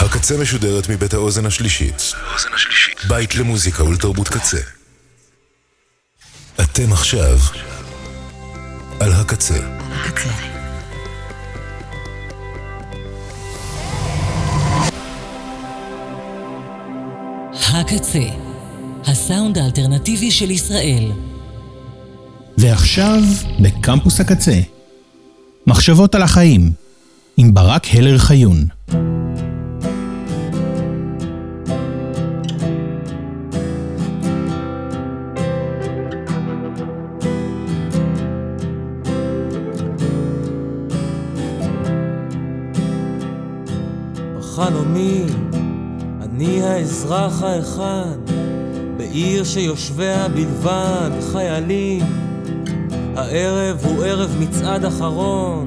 הקצה משודרת מבית האוזן השלישית. בית למוזיקה ולתרבות קצה. אתם עכשיו על הקצה. הקצה, הסאונד האלטרנטיבי של ישראל. ועכשיו בקמפוס הקצה, מחשבות על החיים, עם ברק הלר חיון. בחלומי אני האזרח האחד, בעיר שיושביה בלבד חיילים. הערב הוא ערב מצעד אחרון,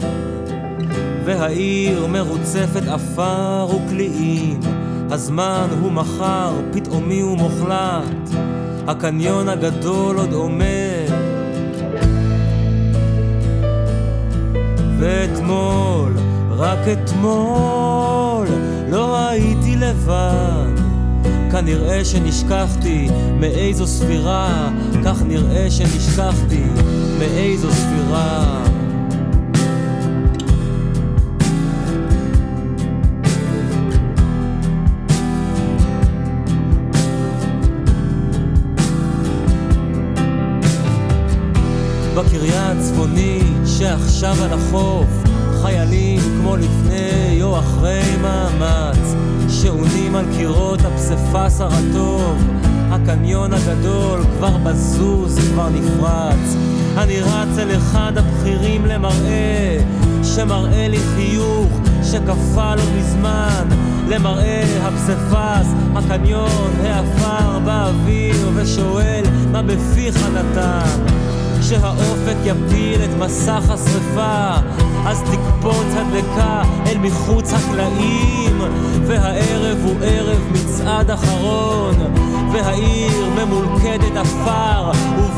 והעיר מרוצפת אפר וקליעים. הזמן הוא מחר, פתאומי ומוחלט, הקניון הגדול עוד עומד. ואתמול, רק אתמול, לא הייתי לבד. כנראה שנשכחתי מאיזו ספירה, כך נראה שנשכחתי מאיזו ספירה. בקריה הצפונית שעכשיו על החוף, חיילים כמו לפני או אחרי מאמץ, שעונים על קירות הפספס הרטוב. הקניון הגדול כבר בזוז, כבר נפרץ. אני רץ אל אחד הבכירים למראה, שמראה לי חיוך שקפה לו מזמן. למראה הפספס, הקניון, האפר באוויר, ושואל מה בפיך נתן. כשהאופק יפיל את מסך השריפה, אז תקפוץ הדלקה אל מחוץ הקלעים. והערב הוא ערב מצעד אחרון, והעיר ממולכדת אפר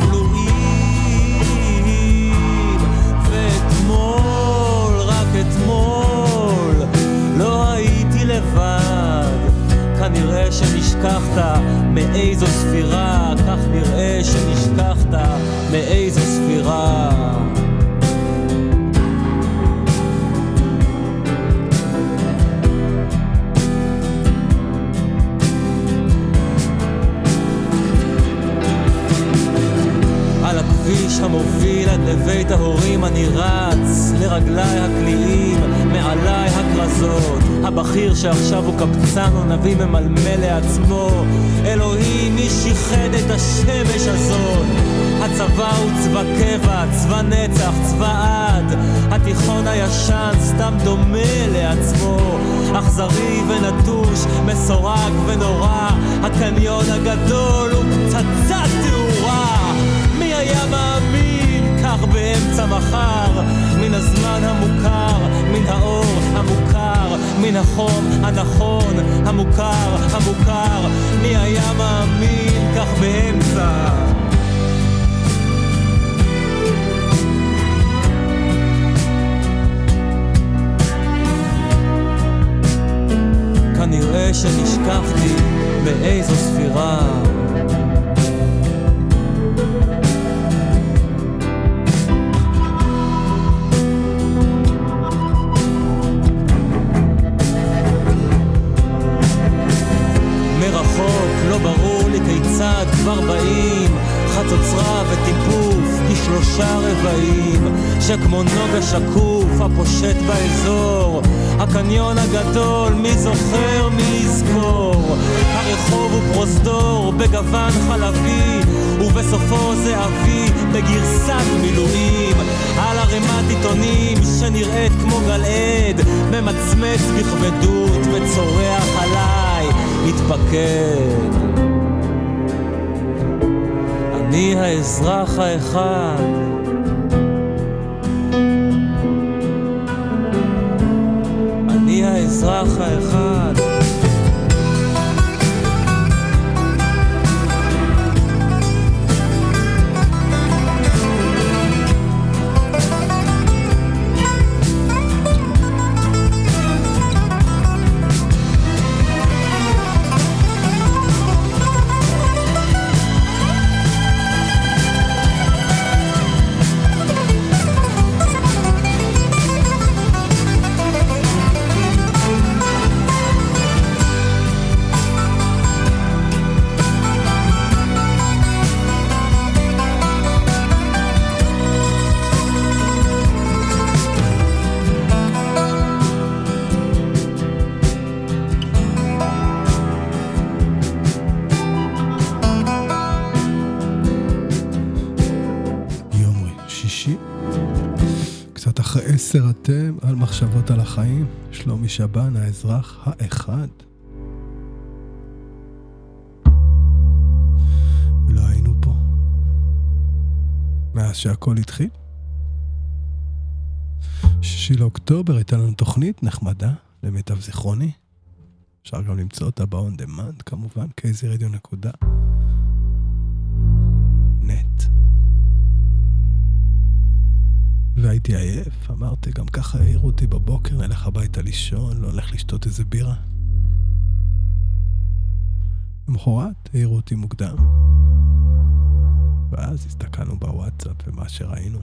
ובלועים. ואתמול, רק אתמול, לא הייתי לבד. כנראה שנשכחת מאיזו ספירה, כך נראה שנשכחת מאיזו ספירה. על הכביש המוביל עד לבית ההורים אני רץ, לרגליי הקליעים, מעליי הכרזות. הבכיר שעכשיו הוא קבצן או נביא ממלמל לעצמו, אלוהים מי שיחד את השמש הזאת. הצבא הוא צבא קבע, צבא נצח, צבא עד. התיכון הישן סתם דומה לעצמו, אכזרי ונטוש, מסורק ונורא. הקניון הגדול הוא פצצת תאורה. מי היה מאמין כך באמצע מחר, מן הזמן המוכר, מן האור המוכר, מן החום הנכון, המוכר, המוכר. מי היה מאמין כך באמצע? כנראה שנשכחתי באיזו ספירה. לא ברור לי כיצד כבר באים חצוצרה וטיפוף כשלושה רבעים, שכמו נוגה שקוף הפושט באזור. הקניון הגדול, מי זוכר מי יזכור. הרחוב הוא פרוזדור בגוון חלבי, ובסופו זה אבי בגרסת מילואים. על הרמת עיתונים שנראית כמו גלעד, ממצמץ בכבדות וצורח עליי מתפקד. אני האזרח האחד, אני האזרח האחד. 10 אתם על מחשבות על החיים, שלומי שבן, האזרח האחד. ולא היינו פה מאז שהכל התחיל. 6 לאוקטובר הייתה לנו תוכנית נחמדה למיטב זיכרוני, אפשר גם למצוא אותה ב-on demand כמובן, kzradio.net. והייתי עייף, אמרתי גם ככה העירו אותי בבוקר, נלך הביתה לישון, לא הולך לשתות איזה בירה. למחרת העירו אותי מוקדם, ואז הסתכלנו בוואטסאפ ומה שראינו.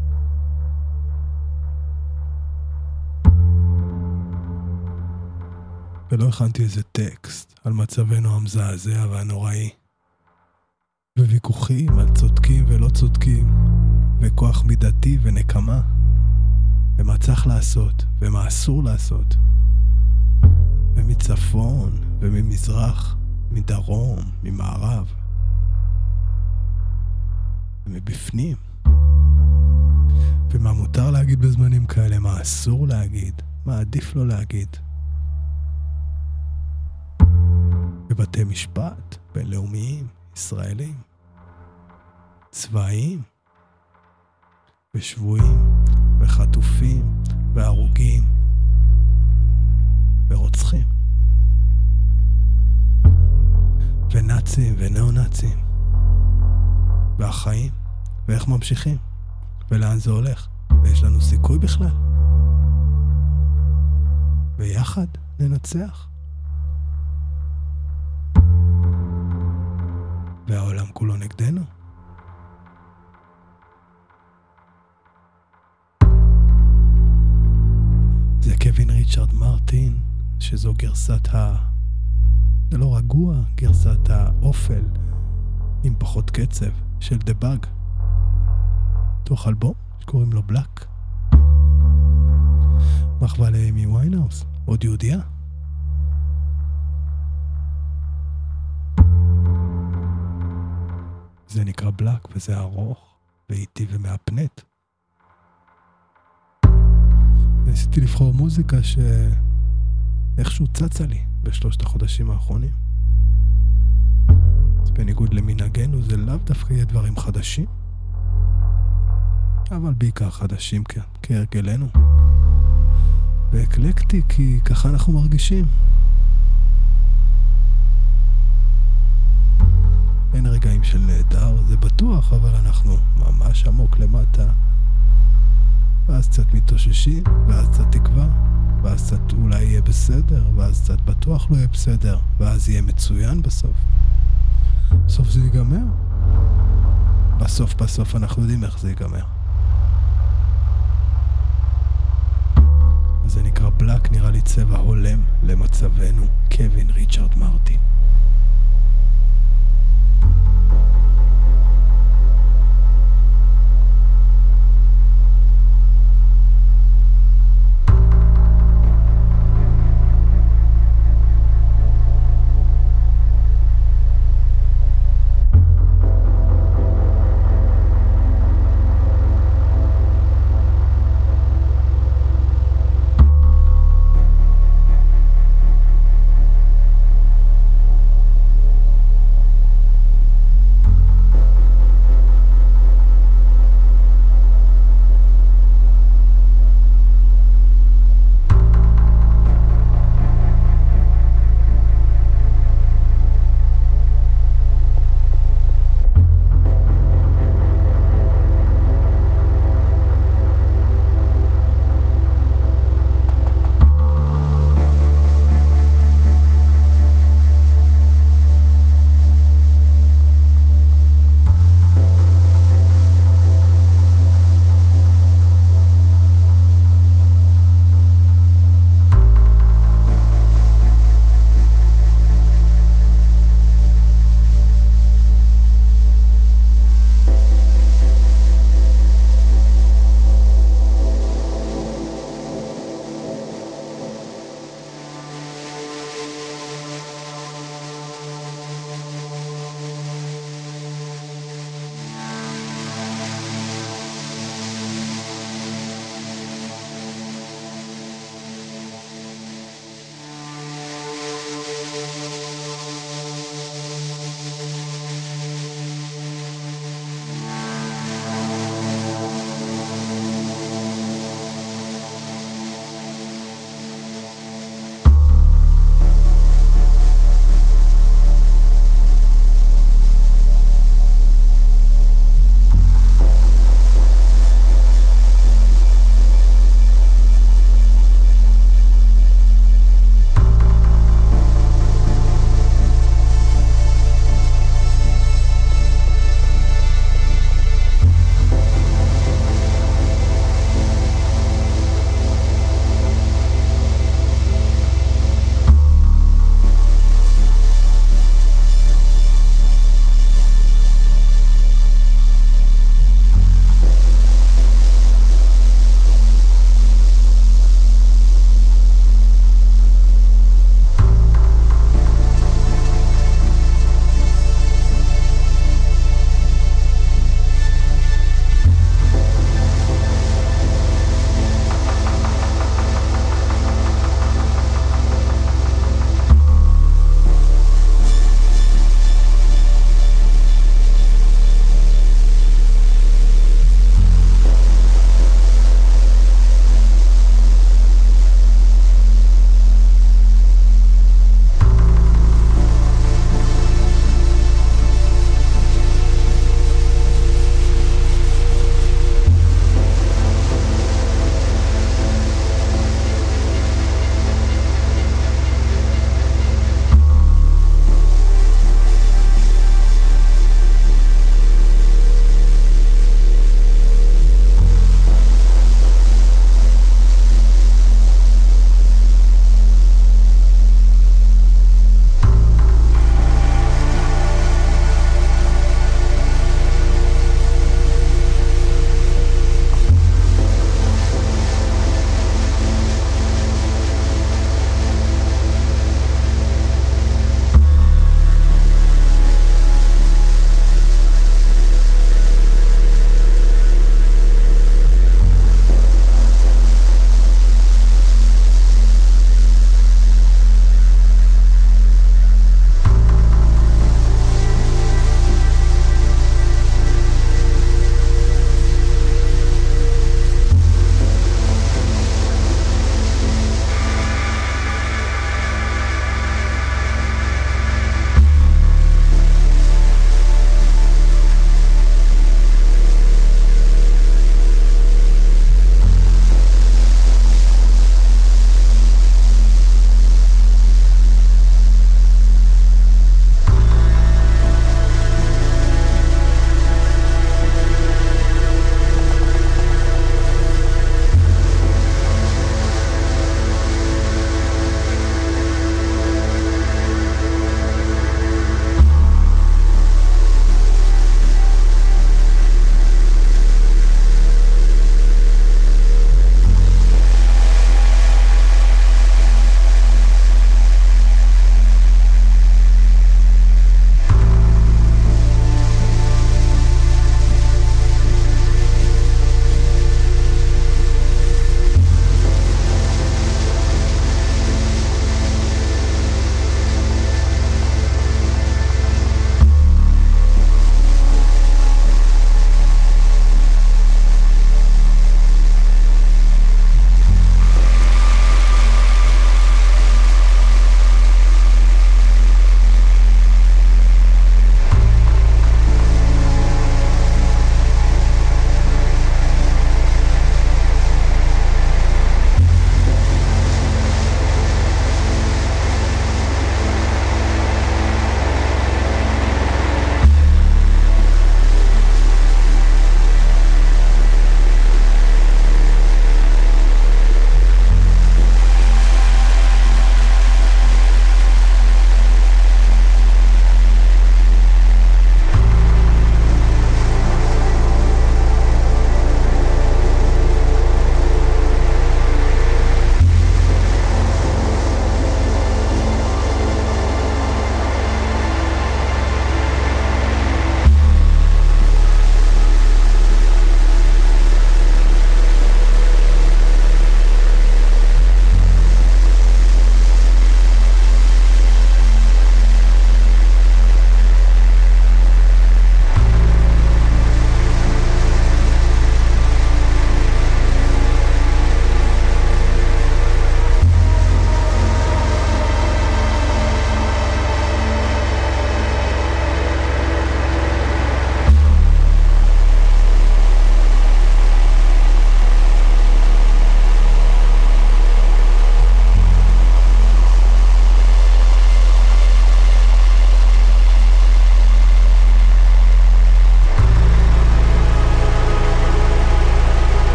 ולא הכנתי איזה טקסט על מצבנו המזעזע והנוראי, וויכוחים על צודקים ולא צודקים, וכוח מידתי ונקמה, ומה צריך לעשות ומה אסור לעשות, ומצפון וממזרח, מדרום, ממערב, ומבפנים, ומה מותר להגיד בזמנים כאלה, מה אסור להגיד, מה עדיף לא להגיד. בבתי משפט בינלאומיים, ישראלים, צבאיים, ושבויים, וחטופים, והרוגים, ורוצחים, ונאצים ונאו-נאצים, והחיים, ואיך ממשיכים, ולאן זה הולך, ויש לנו סיכוי בכלל. ויחד ננצח. והעולם כולו נגדנו. זה קווין ריצ'רד מרטין, שזו גרסת זה לא רגוע, גרסת האופל עם פחות קצב של דה באג, תוך אלבום שקוראים לו בלק. מחווה לאמי ויינהאוס, עוד יהודיה. זה נקרא בלק, וזה ארוך ואיטי ומאפנט. ניסיתי לבחור מוזיקה שאיכשהו צצה לי בשלושת החודשים האחרונים. אז בניגוד למנהגנו זה לאו דווקא יהיה דברים חדשים, אבל בעיקר חדשים כהרגלנו. ואקלקטי כי ככה אנחנו מרגישים. אין רגעים של נהדר, זה בטוח, אבל אנחנו ממש עמוק למטה. ואז קצת מתאוששים, ואז קצת תקווה, ואז קצת אולי יהיה בסדר, ואז קצת בטוח לא יהיה בסדר, ואז יהיה מצוין בסוף. בסוף זה ייגמר. בסוף אנחנו יודעים איך זה ייגמר. אז זה נקרא בלק, נראה לי צבע הולם למצבנו, קווין ריצ'רד מרטין.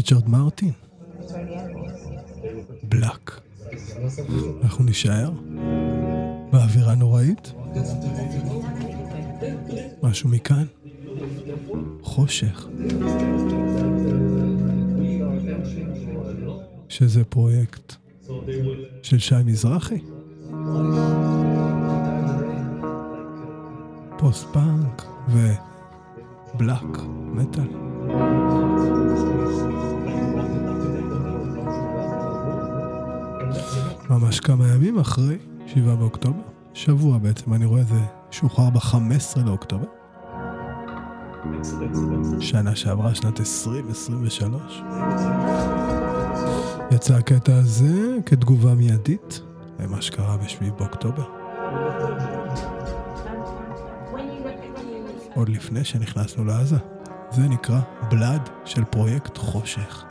ריצ'רד מרטין, בלק. אנחנו נשאר באווירה נוראית. משהו מכאן, חושך, שזה פרויקט של שי מזרחי, פוסט פאנק ובלק מטל. ממש כמה ימים אחרי 7 באוקטובר, שבוע בעצם, אני רואה זה שוחרר ב-15 לאוקטובר, שנה שעברה, שנת 2023. יצא הקטע הזה כתגובה מיידית למה שקרה ב-7 באוקטובר, עוד לפני שנכנסנו לעזה. זה נקרא בלד של פרויקט חושך.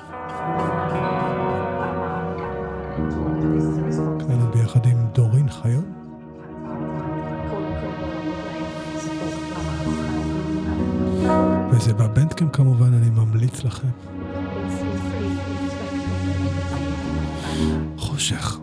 כאן ביחד עם דורין חיון. וזה בבנדקאמפ כמובן, אני ממליץ לכם. חושך.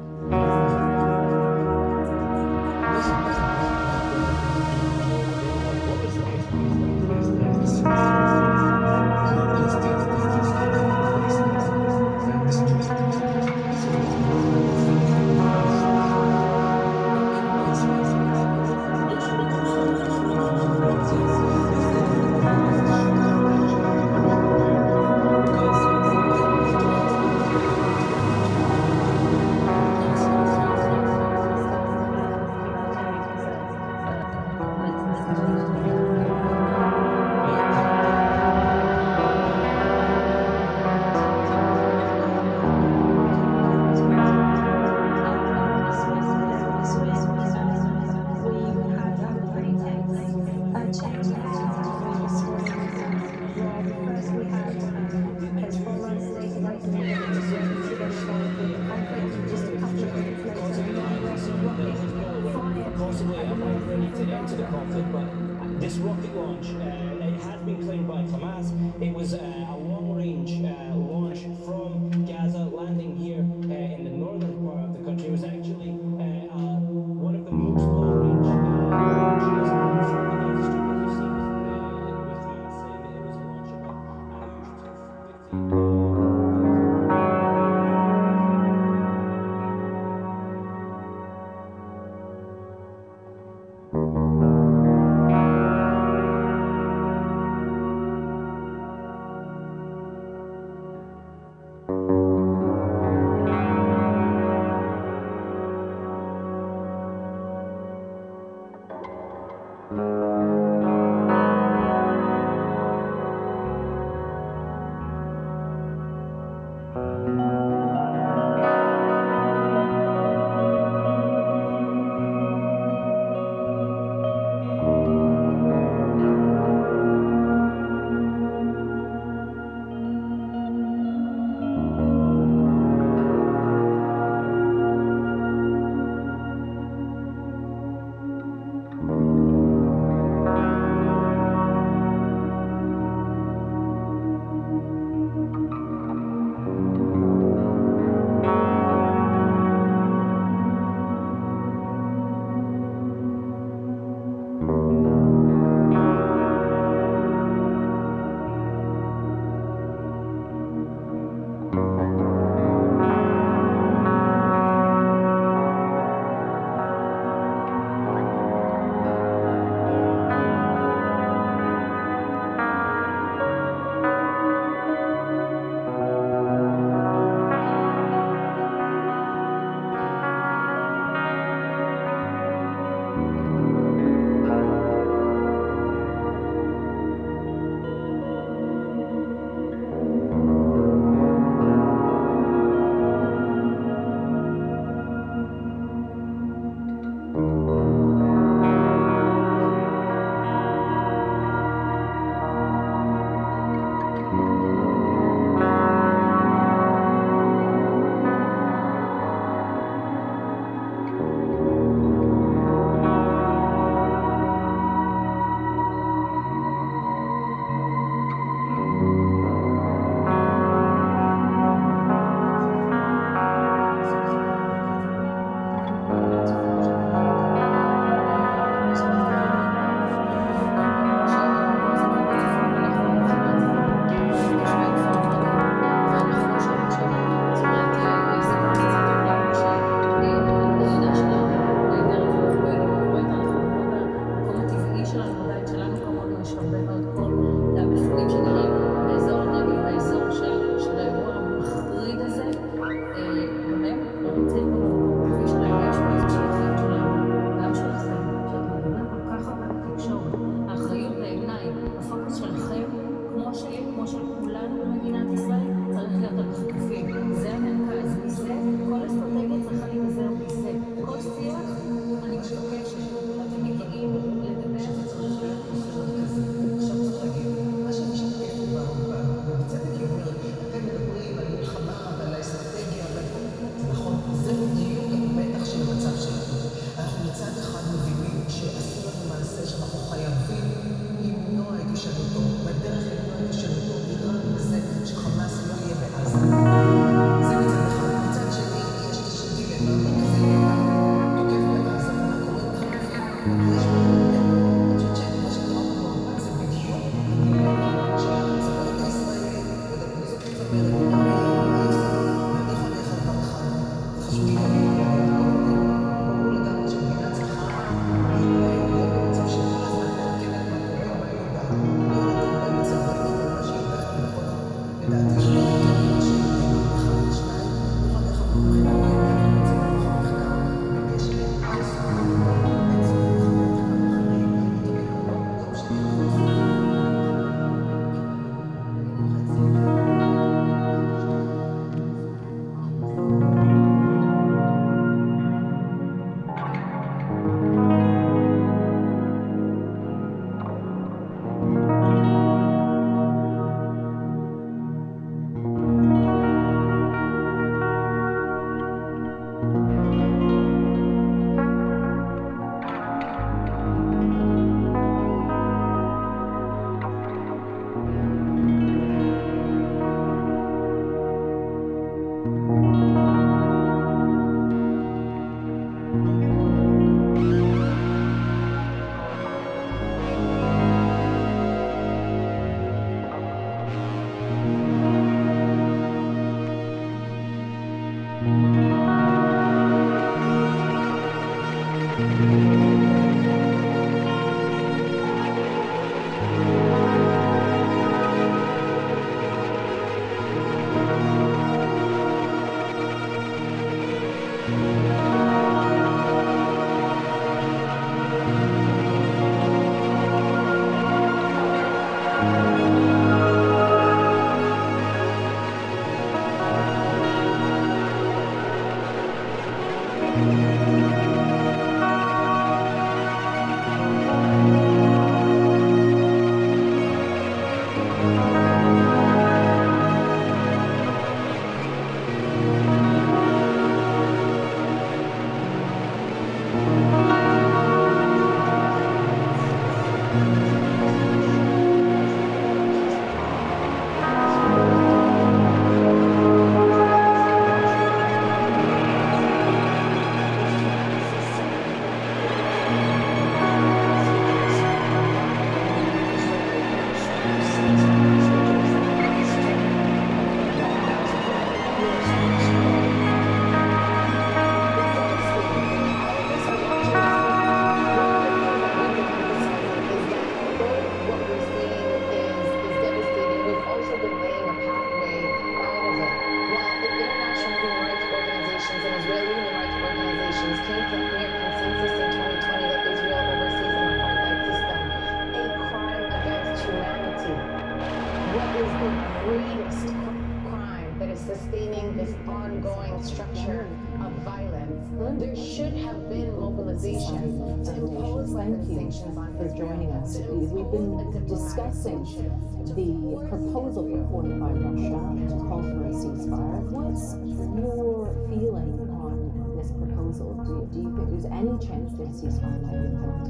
We've been discussing the proposal put forward by Russia to call for a ceasefire. What's your feeling on this proposal? Do you think there's any chance that a ceasefire might be found?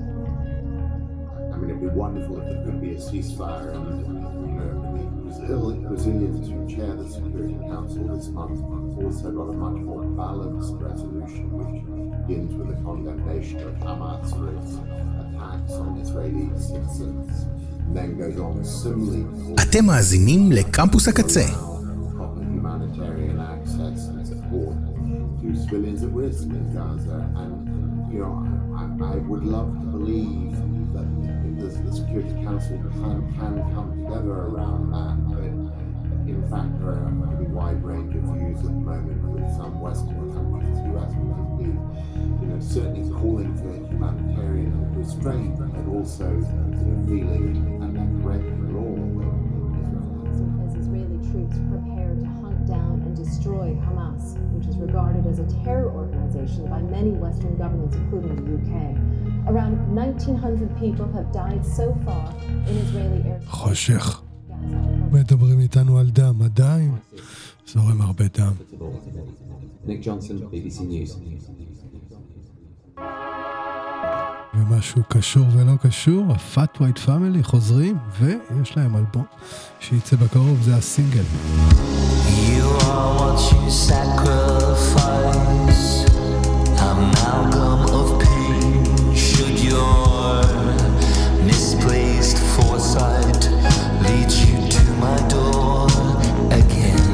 I mean, it'd be wonderful if there could be a ceasefire, and the Brazilians who chair the Security Council this month also got a much more balanced resolution, which begins with a condemnation of Hamas for its attacks on Israeli citizens, and then goes on similarly. אתם מאזינים לקמפוס הקצה. Humanitarian access and support to civilians at risk in Gaza, and I would love to believe that the Security Council can come together around that, but in fact there are a pretty wide range of views at the moment, with some Western countries, US particularly, certainly calling for humanitarian restraint, but also feeling and correct law. As Israeli troops prepare to hunt down and destroy Hamas, which is regarded as a terror organization by many Western governments, including the UK. Around 1,900 people have died so far in Israeli air. חושך. מדברים איתנו על דם, עדיין זורם הרבה דם. Nick Johnson, BBC News. ומשהו קשור ולא קשור, ה-Fat White Family חוזרים, ויש להם אלבום שיצא בקרוב, זה הסינגל. You are what you sacrifice, amalgam of pain. Should your misplaced foresight lead you to my door again?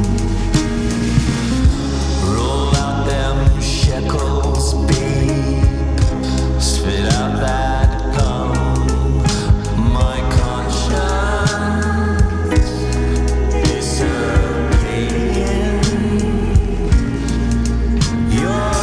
Roll out them shekels, babe. Spit out that gum. My conscience is a pain. You're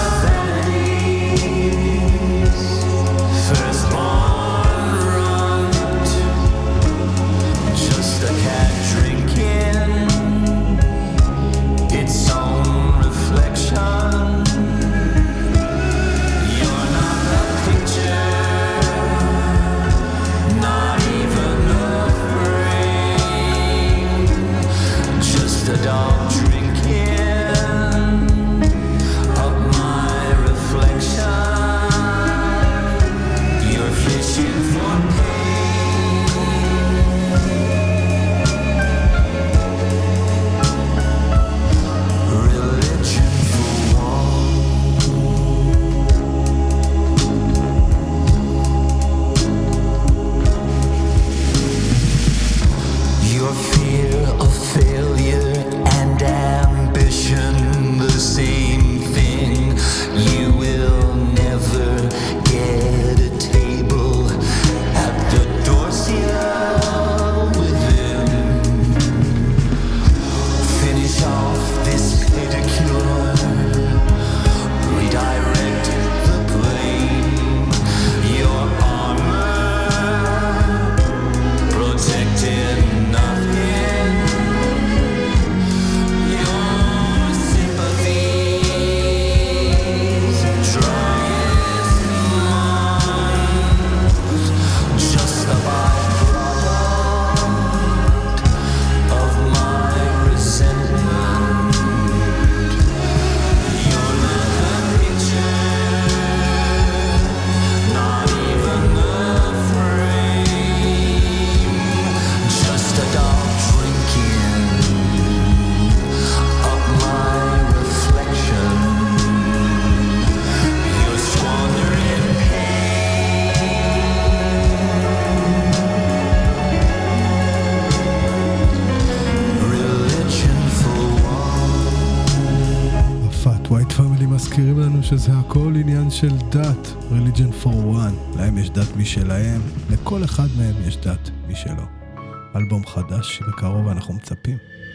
לנו שזה הכל עניין של דת, religion for one. להם יש דת משלהם, לכל אחד מהם יש דת משלו. אלבום חדש שבקרוב אנחנו מצפים.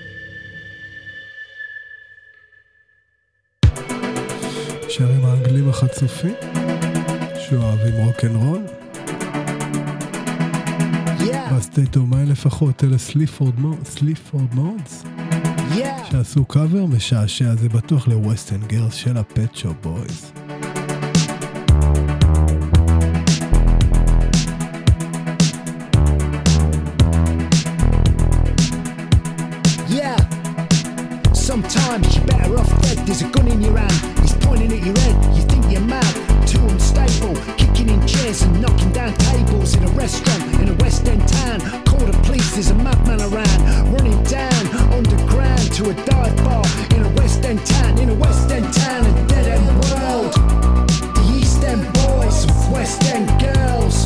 שרים האנגלים החצופים שאוהבים רוק'נ'רול. בסטייט אוף מיינד לפחות, אלה סליפורד מודס שעשו קאבר משעשע, זה בטוח לווסטרן גרס של הפט שופ בויז. Sometimes you're better off dead. There's a gun in your hand, he's pointing at your head. You think you're mad, too unstable, kicking in chairs and knocking down tables in a restaurant in a West End town. Call the police, there's a madman around, running down underground to a dive bar in a West End town, a dead end world. The East End boys, West End girls,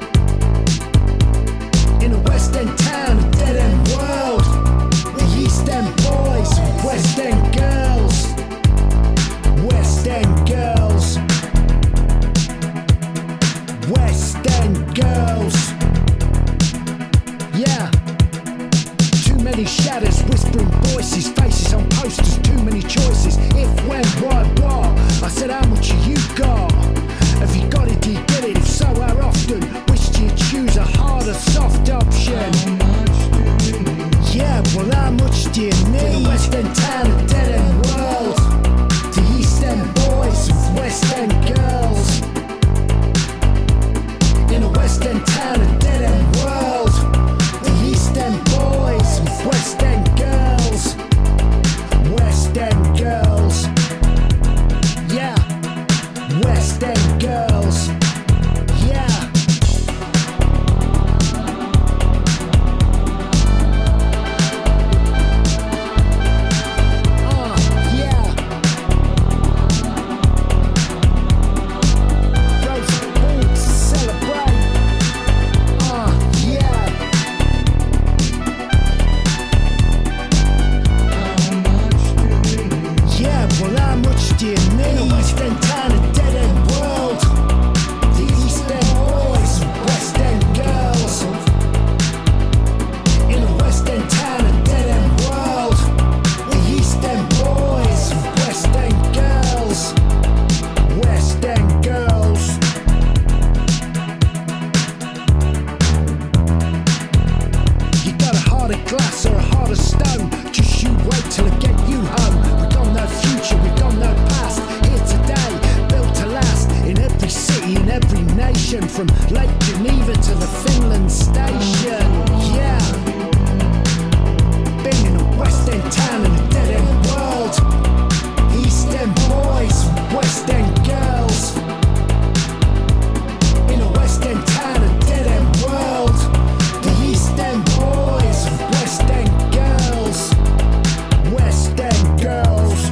in a West End town, a dead end world. The East End boys, West End girls, West End girls, West End girls. Yeah. Too many shadows, whispering voices, faces on posters, too many choices. If, when, why, what? I said, how much have you got? Have you got it, do you get it? If so, how often? Which do you choose, a hard or soft option? Yeah, well, how much do you need? In a West End town, a dead end world. The East End boys, West End girls. In a West End town, a dead end world. The East End boys, West End girls. West End girls. Yeah, West End girls. Yeah. From Lake Geneva to the Finland station, yeah. Been in a West End town in a dead end world. East End boys, West End girls. In a West End town, a dead end world. The East End boys, West End girls. West End girls.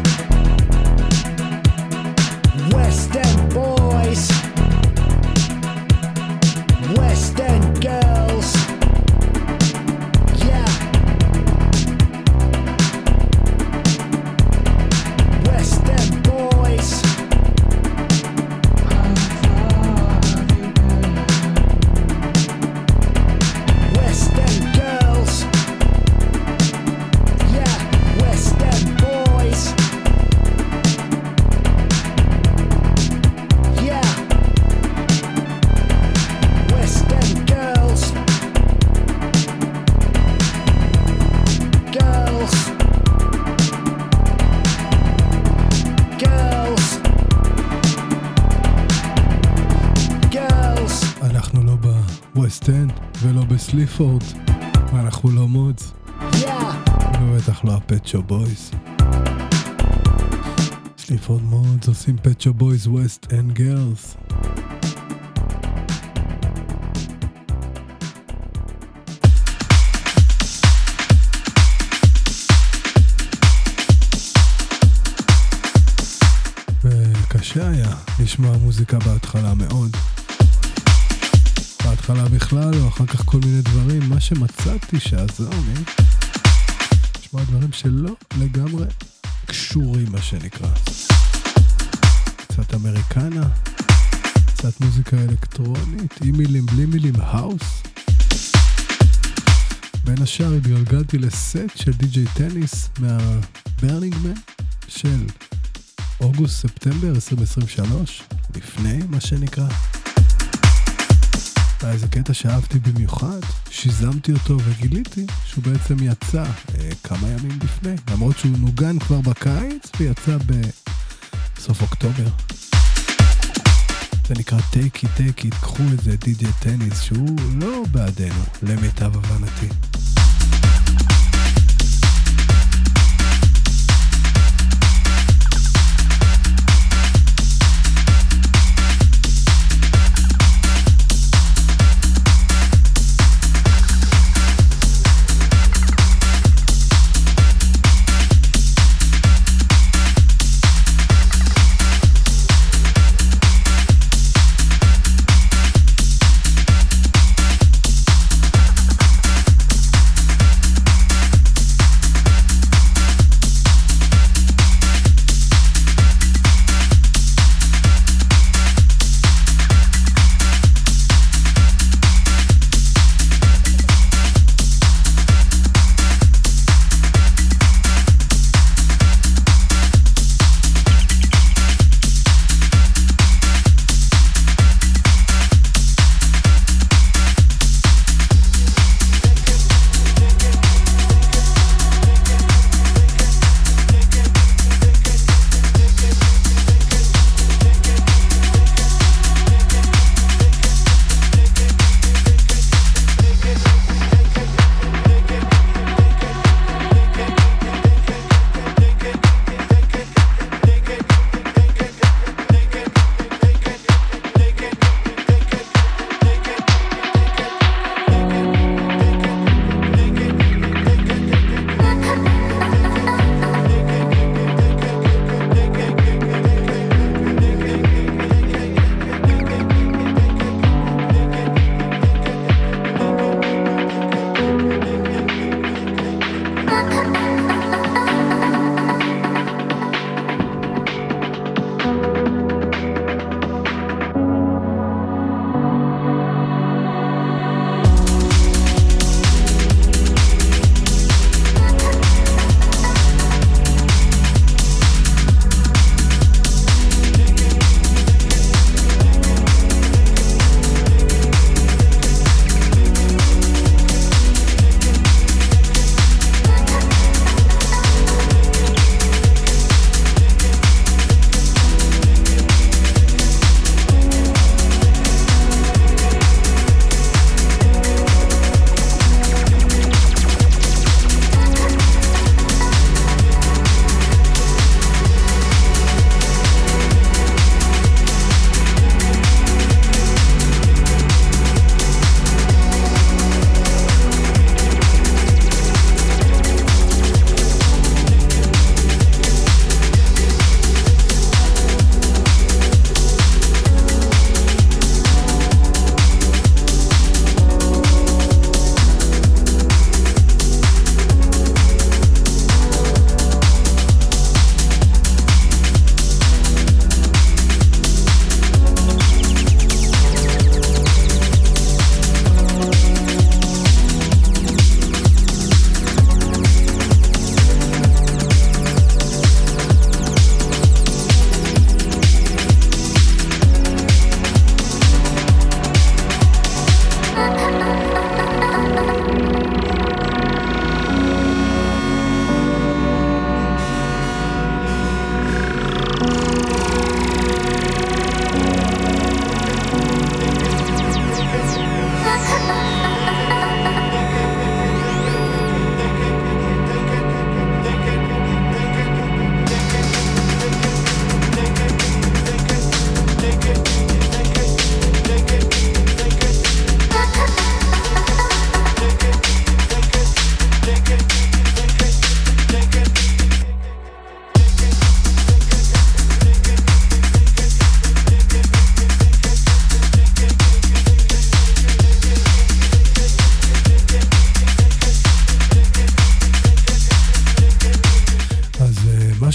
West End boys. West End girls, yeah. West End boys. West End girls, yeah. West End boys, yeah. West End girls, girls, girls, girls. אנחנו לא בווסט אנד ולא בסליפורד, ואנחנו לא מודס, ובטח לא הפט שופ בויז. סליפורד מודס עושים פט שופ בויז ווסט אנד גרלס. וקשה היה לשמוע מוזיקה בהתחלה מאוד. בהתחלה בכלל, או אחר כך כל מיני דברים. מה שמצאתי שעזר לי, לשמוע דברים שלא לגמרי קשורים, מה שנקרא. קצת אמריקנה, קצת מוזיקה אלקטרונית, עם מילים בלי מילים, האוס. בין השאר התגלגלתי לסט של די.ג'יי טניס מהברנינג מן של אוגוסט-ספטמבר 2023, לפני מה שנקרא. איזה קטע שאהבתי במיוחד, שיזמתי אותו וגיליתי שהוא בעצם יצא כמה ימים לפני, למרות שהוא נוגן כבר בקיץ ויצא בסוף אוקטובר. זה נקרא Take It, Take It, קחו את זה, די.ג'יי טניס, שהוא לא בעדנו, למיטב הבנתי.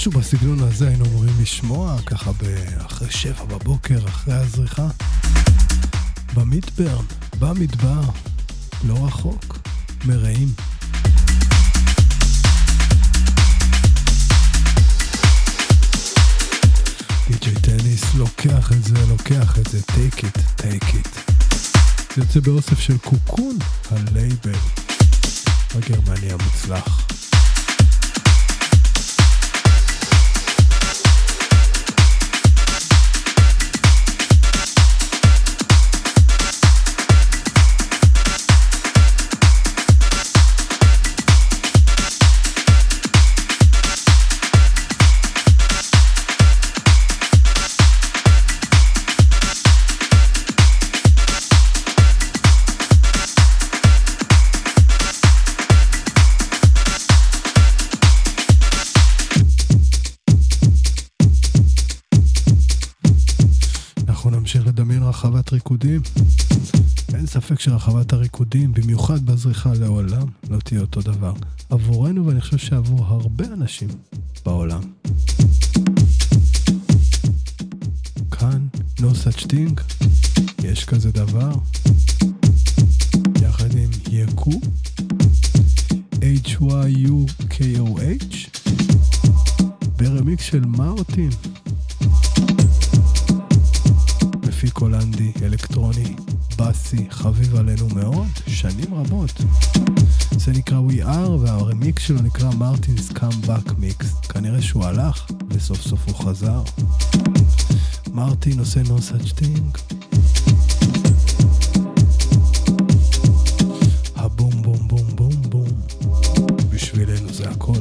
משהו בסגנון הזה היינו אמורים לשמוע, ככה אחרי 7 בבוקר, אחרי הזריחה. במדבר, במדבר, לא רחוק, מרעים. די.ג'יי טניס לוקח את זה, take it. זה יוצא באוסף של קוקון, הלייבל הגרמני המוצלח. רחבת ריקודים. אין ספק שרחבת הריקודים, במיוחד בזריחה לעולם, לא תהיה אותו דבר. עבורנו, ואני חושב שעבור הרבה אנשים בעולם. כאן, no such thing, יש כזה דבר. יחד עם יקו, HYUKOH, ברמיקס של מרטין. מפיק הולנדי, אלקטרוני, בסי, חביב עלינו מאוד, שנים רבות. זה נקרא We Are, והרמיקס שלו נקרא Martin's Comeback Mix. כנראה שהוא הלך, וסוף סוף הוא חזר. מרטין עושה no such thing. הבום בום בום בום בום. בשבילנו זה הכל.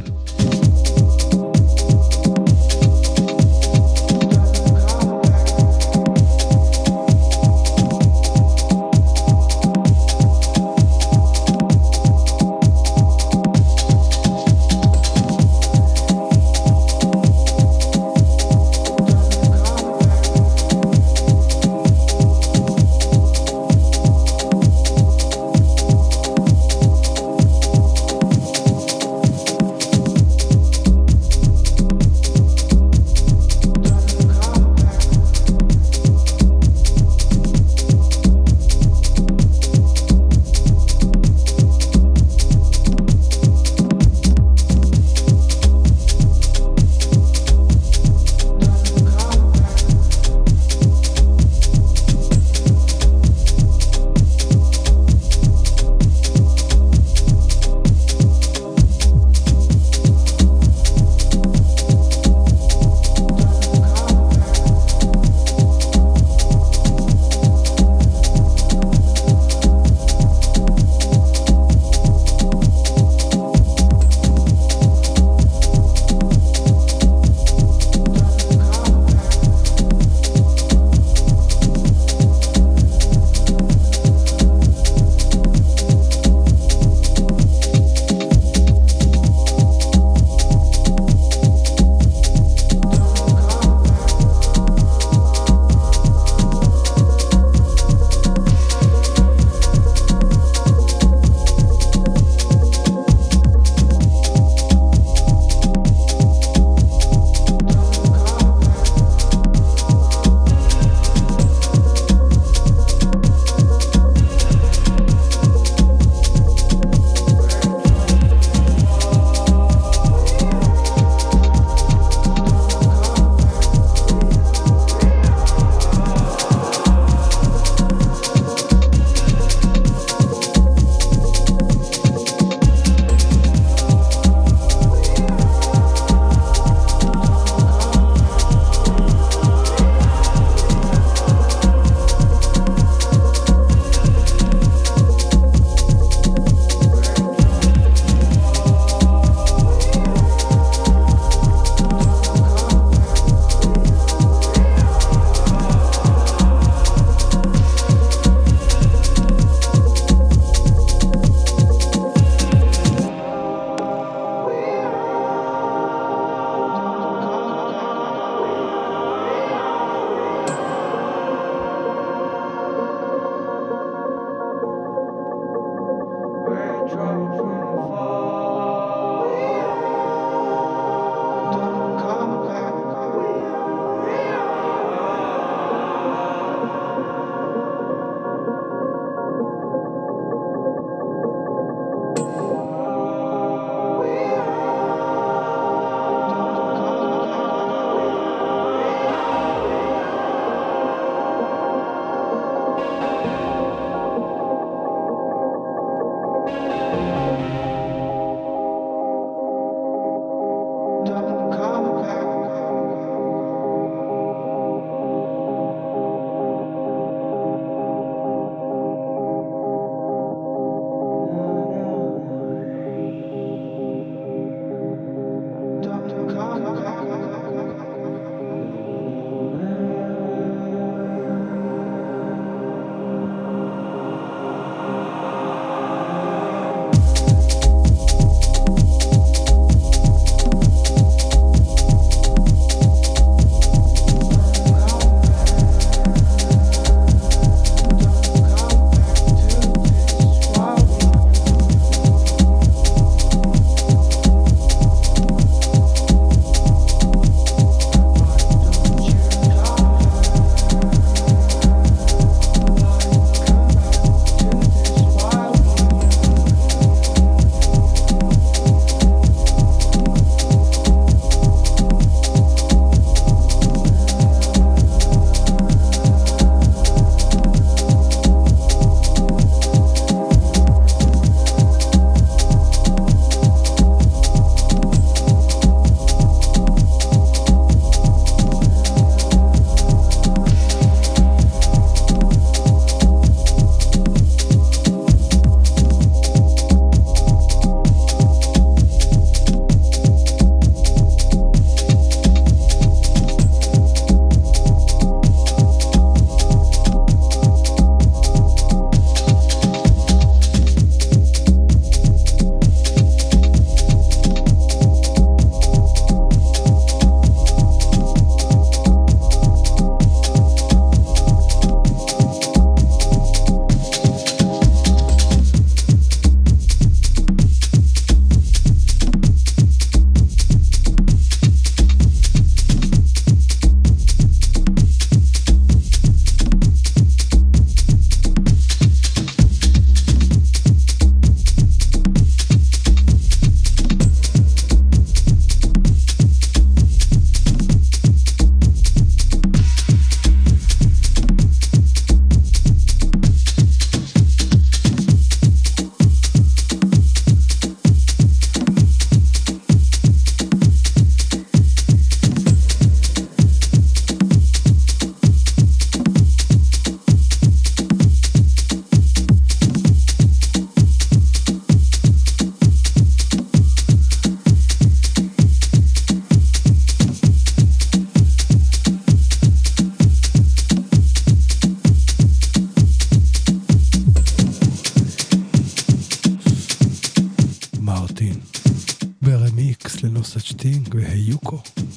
והיוקו.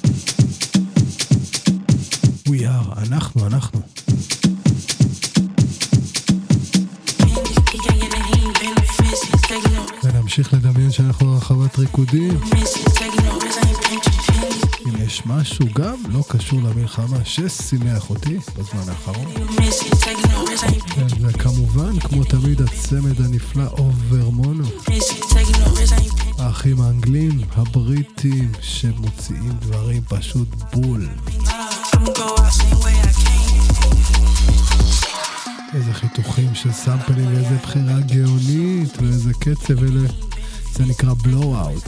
We are, אנחנו. ונמשיך לדמיין שאנחנו רחבת ריקודים. אם יש משהו גם לא קשור למלחמה ששימח אותי בזמן האחרון. וכמובן, כמו תמיד, הצמד הנפלא אוברמונו. האחים האנגלים, הבריטים, שמוציאים דברים פשוט בול. איזה חיתוכים של סמפלים, ואיזה בחירה גאונית, ואיזה קצב, זה נקרא בלואו-אוט.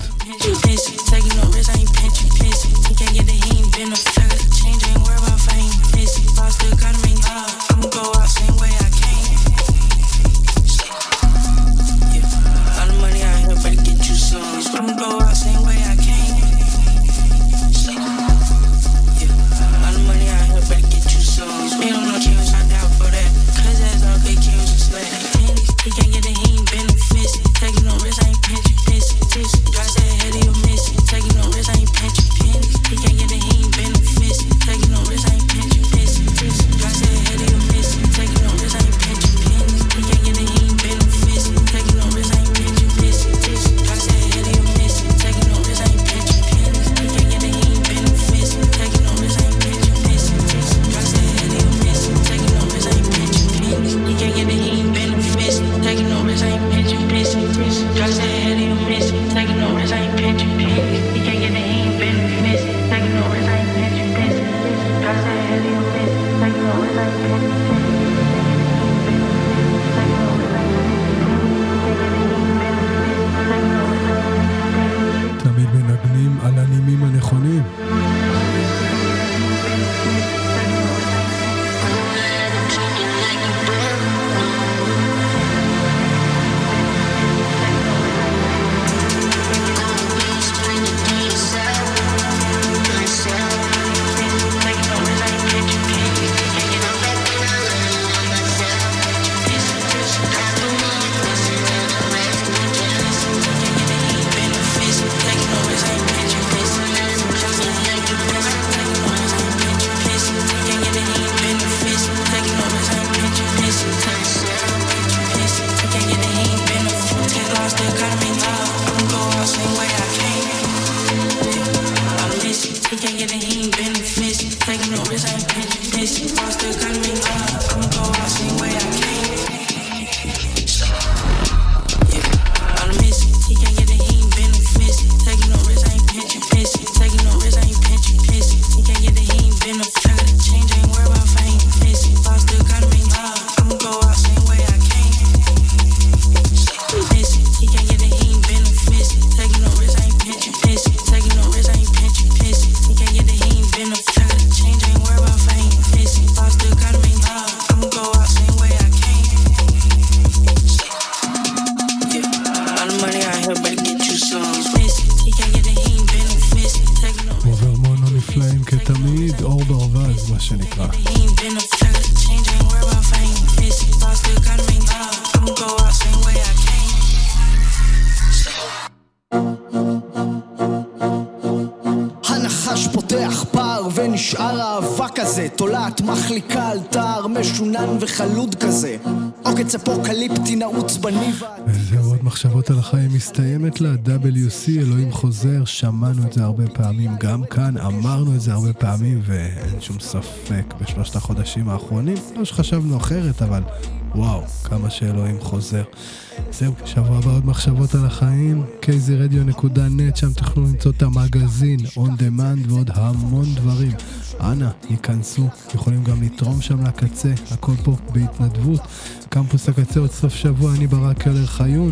תולעת מחליקה על תאר משונן וחלוד כזה עוקץ אפוקליפטי נעוץ בניבה. וזהו, עוד מחשבות על החיים מסתיימת לה. WC, אלוהים חוזר, שמענו את זה הרבה פעמים גם כאן, אמרנו את זה הרבה פעמים, ואין שום ספק בשלושת החודשים האחרונים לא שחשבנו אחרת, אבל וואו, כמה שאלוהים חוזר. זהו, שבוע הבא עוד מחשבות על החיים, kzradio.net, שם תוכלו למצוא את המגזין, on demand ועוד המון דברים. אנא, ייכנסו, יכולים גם לתרום שם לקצה, הכל פה בהתנדבות. קמפוס הקצה עוד סוף שבוע, אני ברק אלר חיון,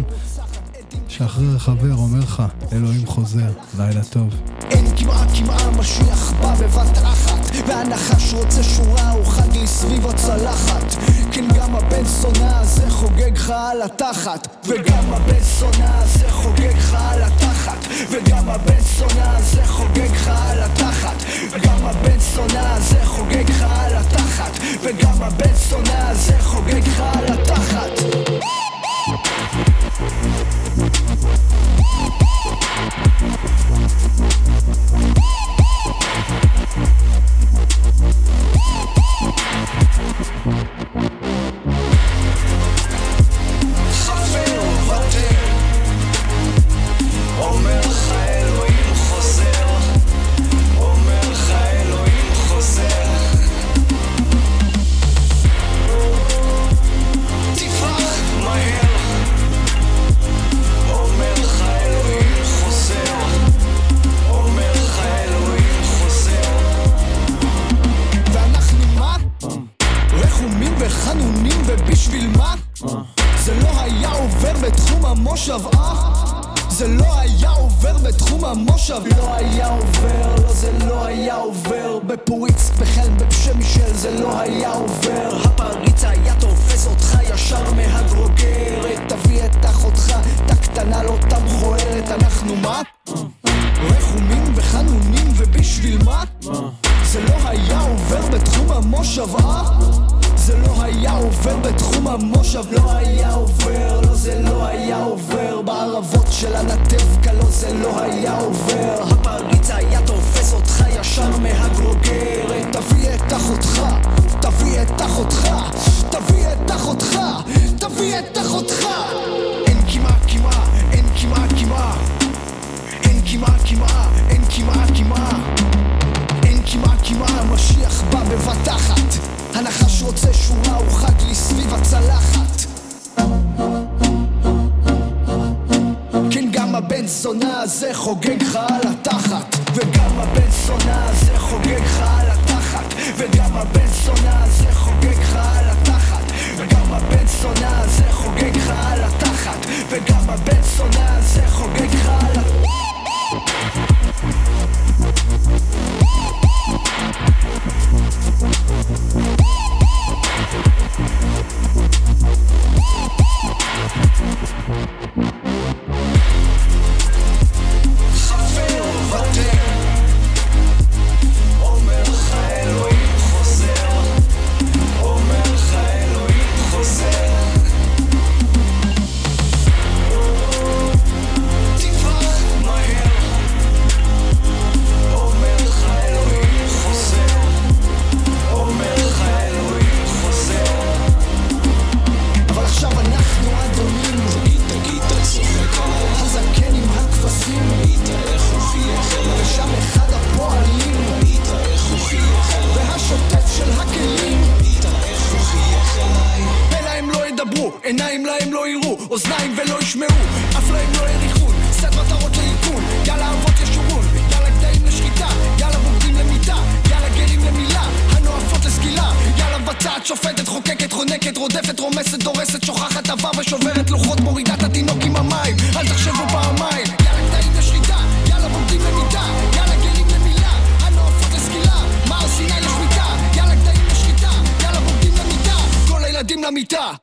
שאחרי חבר אומר לך, אלוהים חוזר, לילה טוב. אין כמעה משיח בא בבת אחת, והנחש רוצה שורה אוחד לי סביב הצלחת. כן, גם הבן שונא הזה חוגג לך על התחת, וגם הבן שונא הזה חוגג לך על התחת, וגם הבן שונא הזה חוגג לך על התחת, וגם הבן שונא הזה חוגג לך על התחת, וגם הבן שונא הזה חוגג לך על התחת. המושב, זה לא היה עובר בתחום המושב. לא היה עובר, לא זה לא היה עובר בפוריץ, בחלם, בפשם מישל, זה לא היה עובר. הפריץ היה תופס אותך ישר מהגרוגרת, תביא את אחותך, את הקטנה לא תם מכוערת. אנחנו מה? רחומים וחנונים ובשביל מה? זה לא היה עובר בתחום המושב, זה לא היה עובר בתחום המושב. לא היה עובר, לא זה לא היה עובר בערבות של הנתב קלו, זה לא היה עובר. הפריץ היה תופס אותך ישר מהגרוגרת, תביא את אחותך, תביא את אחותך, תביא את אחותך, תביא את אחותך. אין כמעט כמעט, אין כמעט כמעט, אין כמעט כמעט, אין כמעט כמעט, אין כמעט כמעט. משיח בא בבת אחת, הנחש רוצה שורה, הוא חד לי סביב הצלחת. כן, גם הבן זונה הזה חוגג לך על התחת, וגם הבן זונה הזה חוגג לך על התחת, וגם הבן זונה הזה חוגג לך על התחת, וגם הבן זונה הזה חוגג לך על התחת, וגם הבן זונה הזה חוגג לך על התחת. חפר וותר, אומר לך אלוהים חוזר, אומר לך אלוהים חוזר. תברח מהר, אומר לך אלוהים חוזר, אומר לך אלוהים חוזר. אבל עכשיו אנחנו אדונים, גיטה צוחק עליי, הזקן עם הכבשים, איך הוא חייך אליי, ושם אחד הפועלים, איך הוא חייך אליי, והשוטף של הכלים, איך הוא חייך אליי. פה להם לא ידברו, עיניים להם לא יראו, אוזניים ולא ישמעו, אף להם לא יריחון, סט מטרות לעיכון, יאללה אבות ישורון, יאללה גדיים לשחיטה, יאללה בוגדים למיטה, יאללה גרים למילה, הנואפות לסגילה, יאללה מבצעת, שופטת, חוקקת, חונקת, רודפת, רומסת, דורסת, שוכחת עבר ושוברת לוחות, מורידה את התינוק עם המים, אל תחשבו פעמיים. יאללה גדיים לשחיטה, יאללה בוגדים למיטה, יאללה גרים למילה, הנואפות לסגילה, מער סיני לשמיטה, יאללה גדיים לשחיטה, יאללה בוגדים למיטה, כל הילדים למיטה.